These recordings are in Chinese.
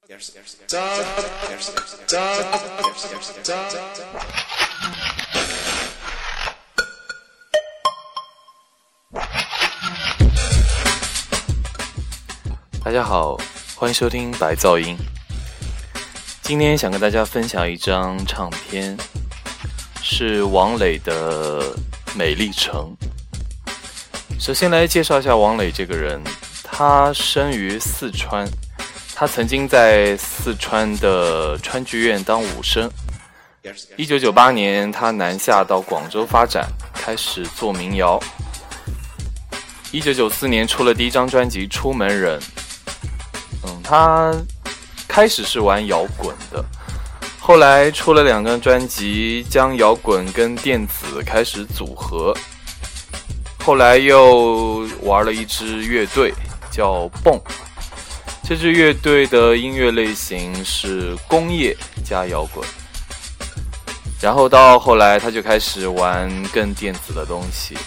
大家好，欢迎收听白噪音。今天想跟大家分享一张唱片，是王磊的《美丽城》。首先来介绍一下王磊这个人，他生于四川，他曾经在四川的川剧院当武生。1998年，他南下到广州发展，开始做民谣。1994年出了第一张专辑《出门人》。他开始是玩摇滚的，后来出了2张专辑，将摇滚跟电子开始组合。后来又玩了一支乐队叫蹦，这支乐队的音乐类型是工业加摇滚。然后到后来他就开始玩更电子的东西。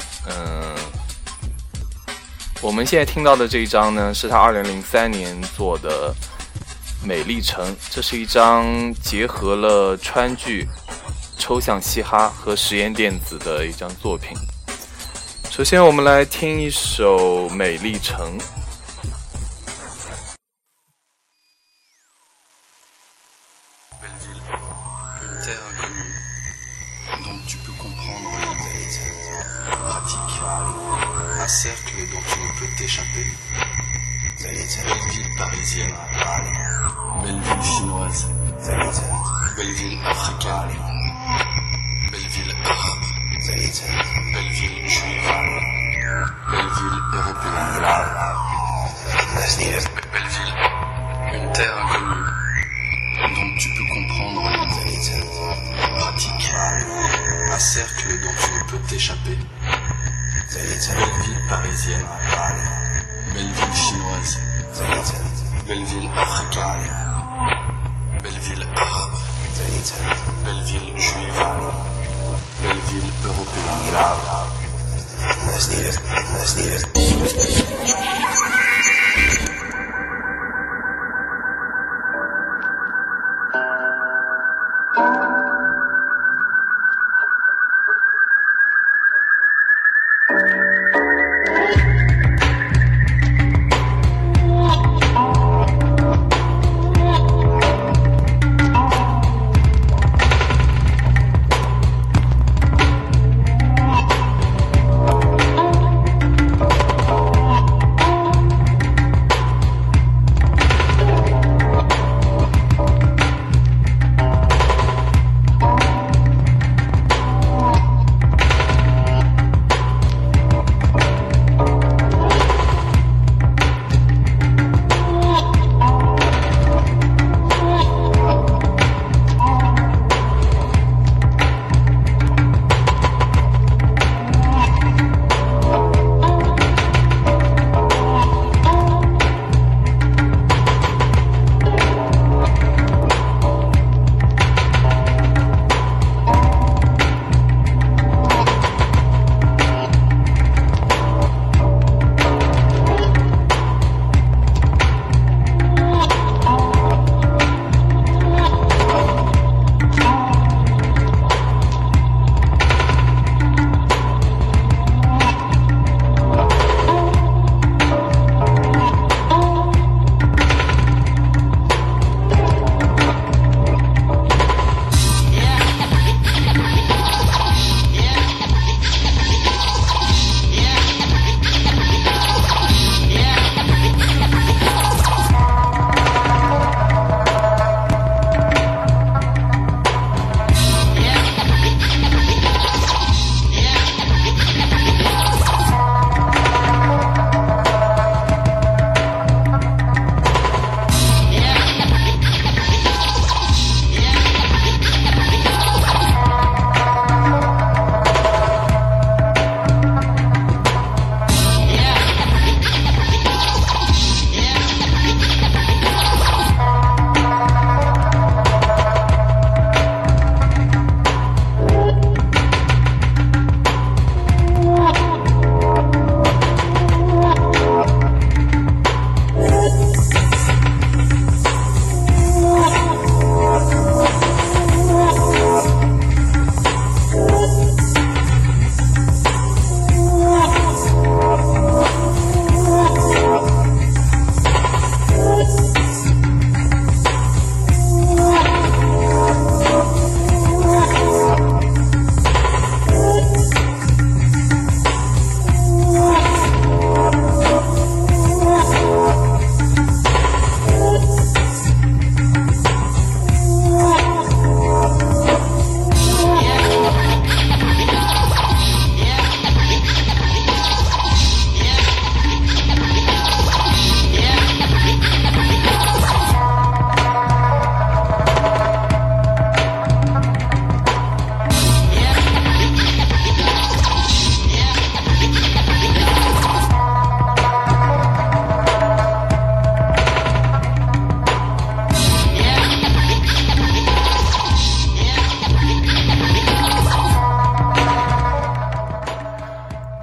我们现在听到的这一张呢，是他2003年做的《美丽城》，这是一张结合了川剧、抽象嘻哈和实验电子的一张作品。首先我们来听一首《美丽城》。 Un cercle dont tu ne peux t'échapper. Belle ville parisienne, belle ville chinoise, belle ville africaine, belle ville arabe, belle ville juive, belle ville européenne. Belle ville, une terre inconnue dont tu peux comprendre les pratiques. Un cercle dont tu ne peux t'échapper. Belle ville parisienne, belle ville chinoise, belle ville africaine, belle ville arabe, belle ville juive, belle ville européenne.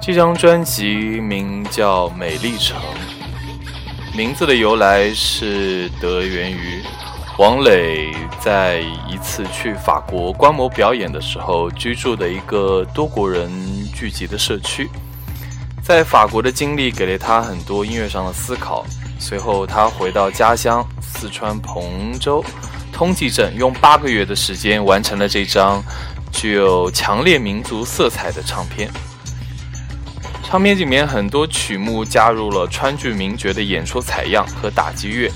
这张专辑名叫《美丽城》，名字的由来是得源于王磊在一次去法国观摩表演的时候居住的一个多国人聚集的社区。在法国的经历给了他很多音乐上的思考，随后他回到家乡四川彭州通济镇，用8个月的时间完成了这张具有强烈民族色彩的唱片。唱片里面很多曲目加入了川剧名角的演出采样和打击乐，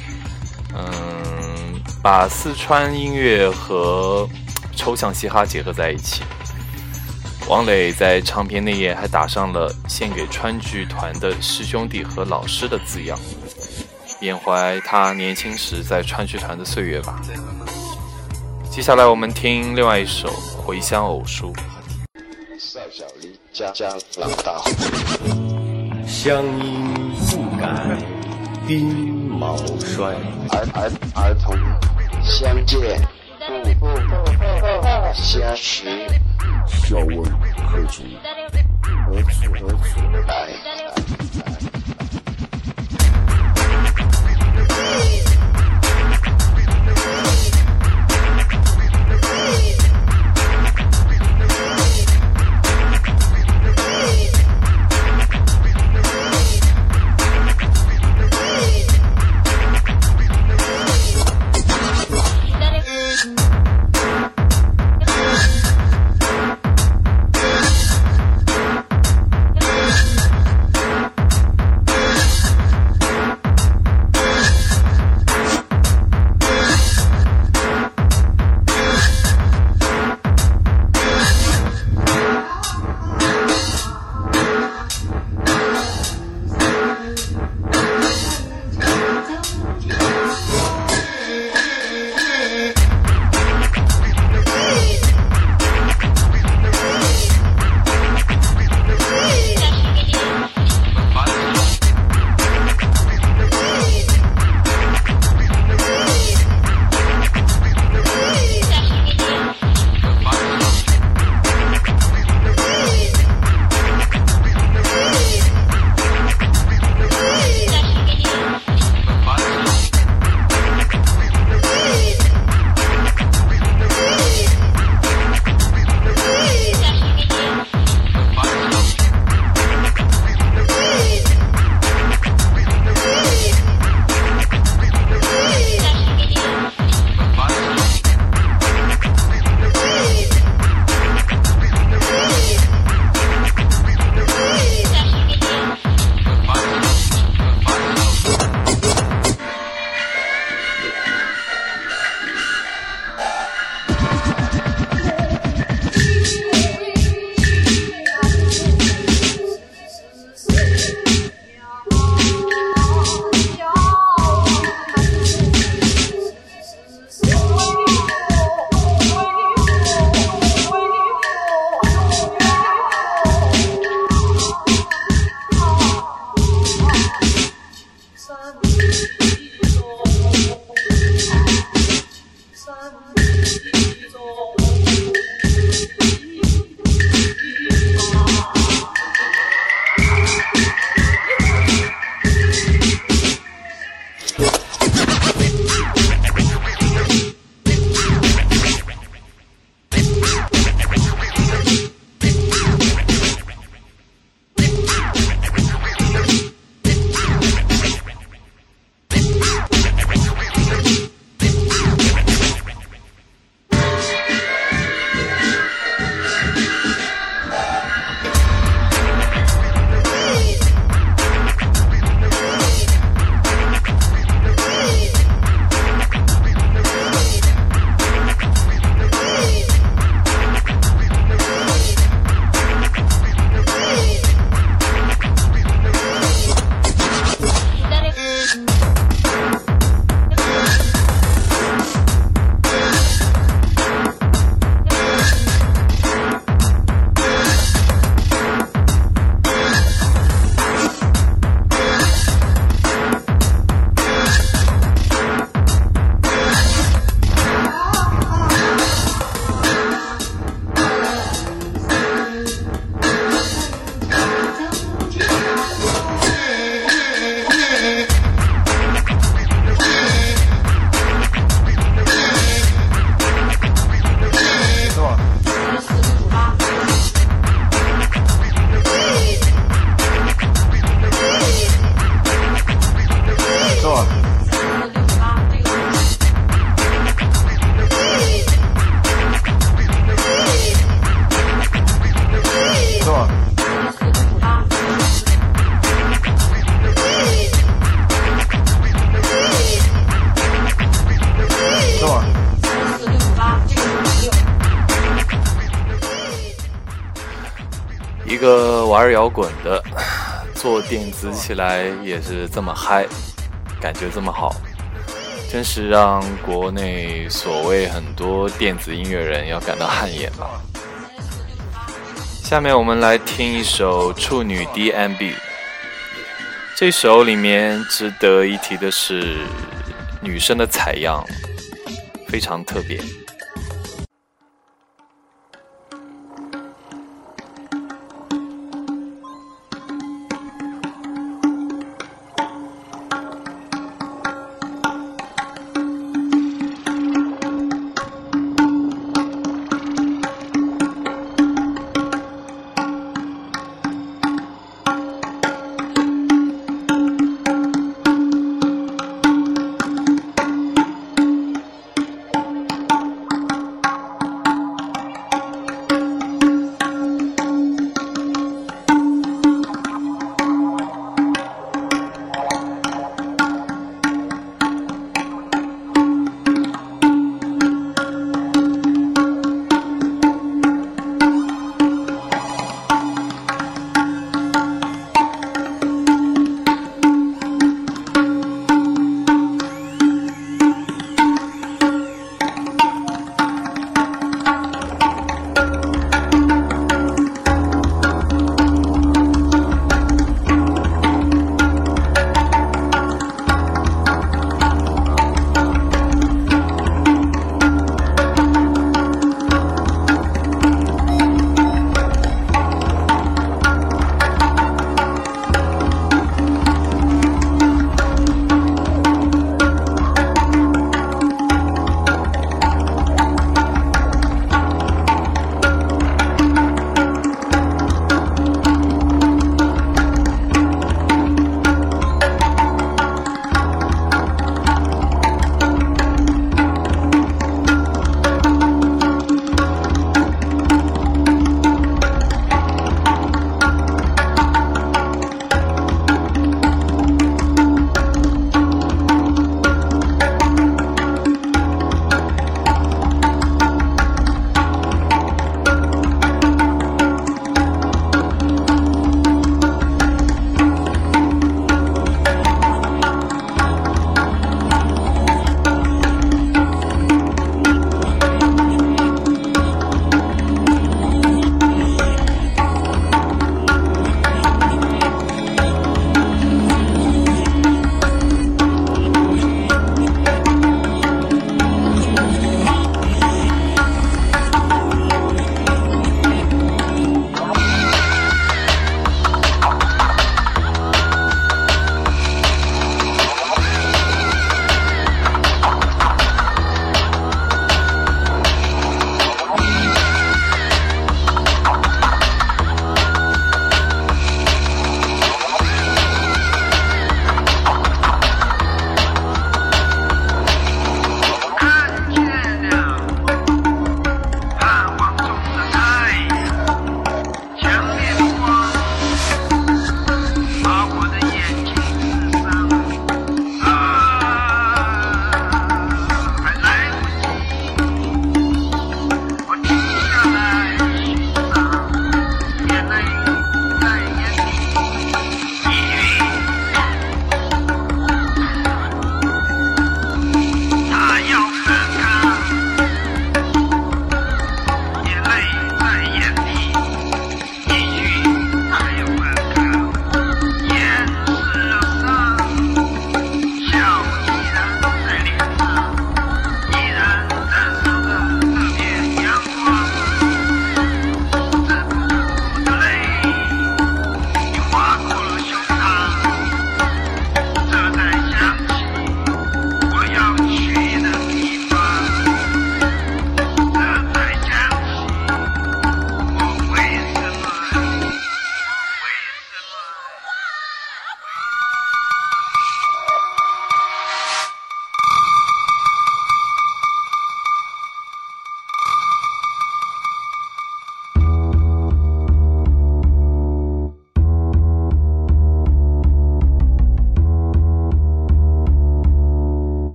把四川音乐和抽象嘻哈结合在一起。王磊在唱片内页还打上了献给川剧团的师兄弟和老师的字样，缅怀他年轻时在川剧团的岁月吧。接下来我们听另外一首《回乡偶书》。 少小离家老大回， 乡音不改鬓毛衰。 儿童相见不相识， 笑问何处来。 个玩摇滚的，做电子起来也是这么嗨，感觉这么好，真是让国内所谓很多电子音乐人要感到汗颜了。下面我们来听一首处女 DMB， 这首里面值得一提的是女生的采样非常特别。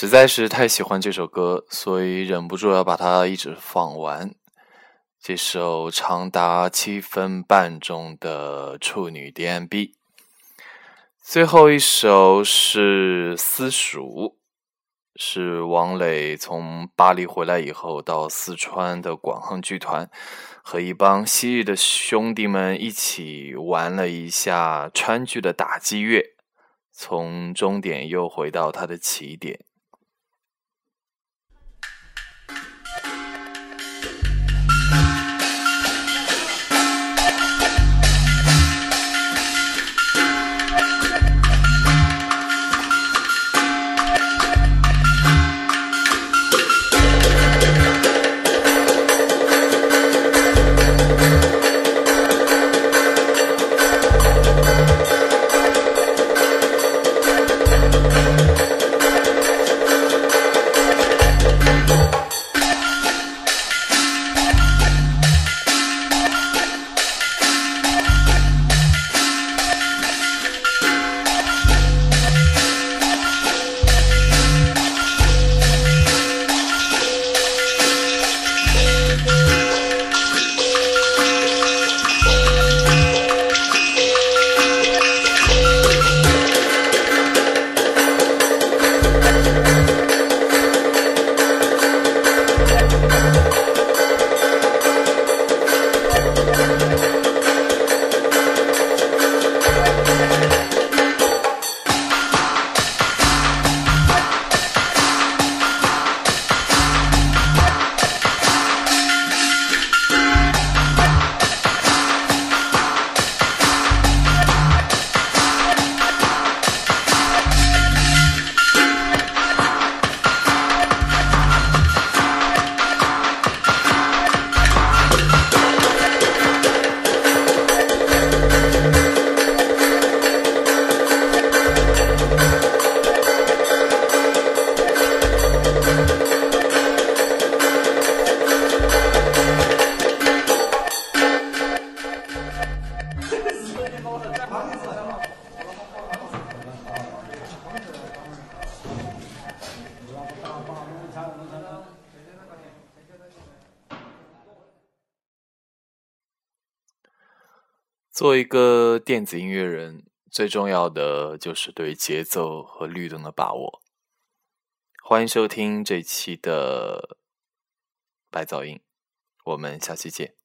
实在是太喜欢这首歌，所以忍不住要把它一直放完。这首长达7分半钟的处女 DMB。 最后一首是私塾，是王磊从巴黎回来以后到四川的广恒剧团，和一帮昔日的兄弟们一起玩了一下川剧的打击乐，从终点又回到它的起点。做一个电子音乐人，最重要的就是对节奏和律动的把握。欢迎收听这期的白噪音，我们下期见。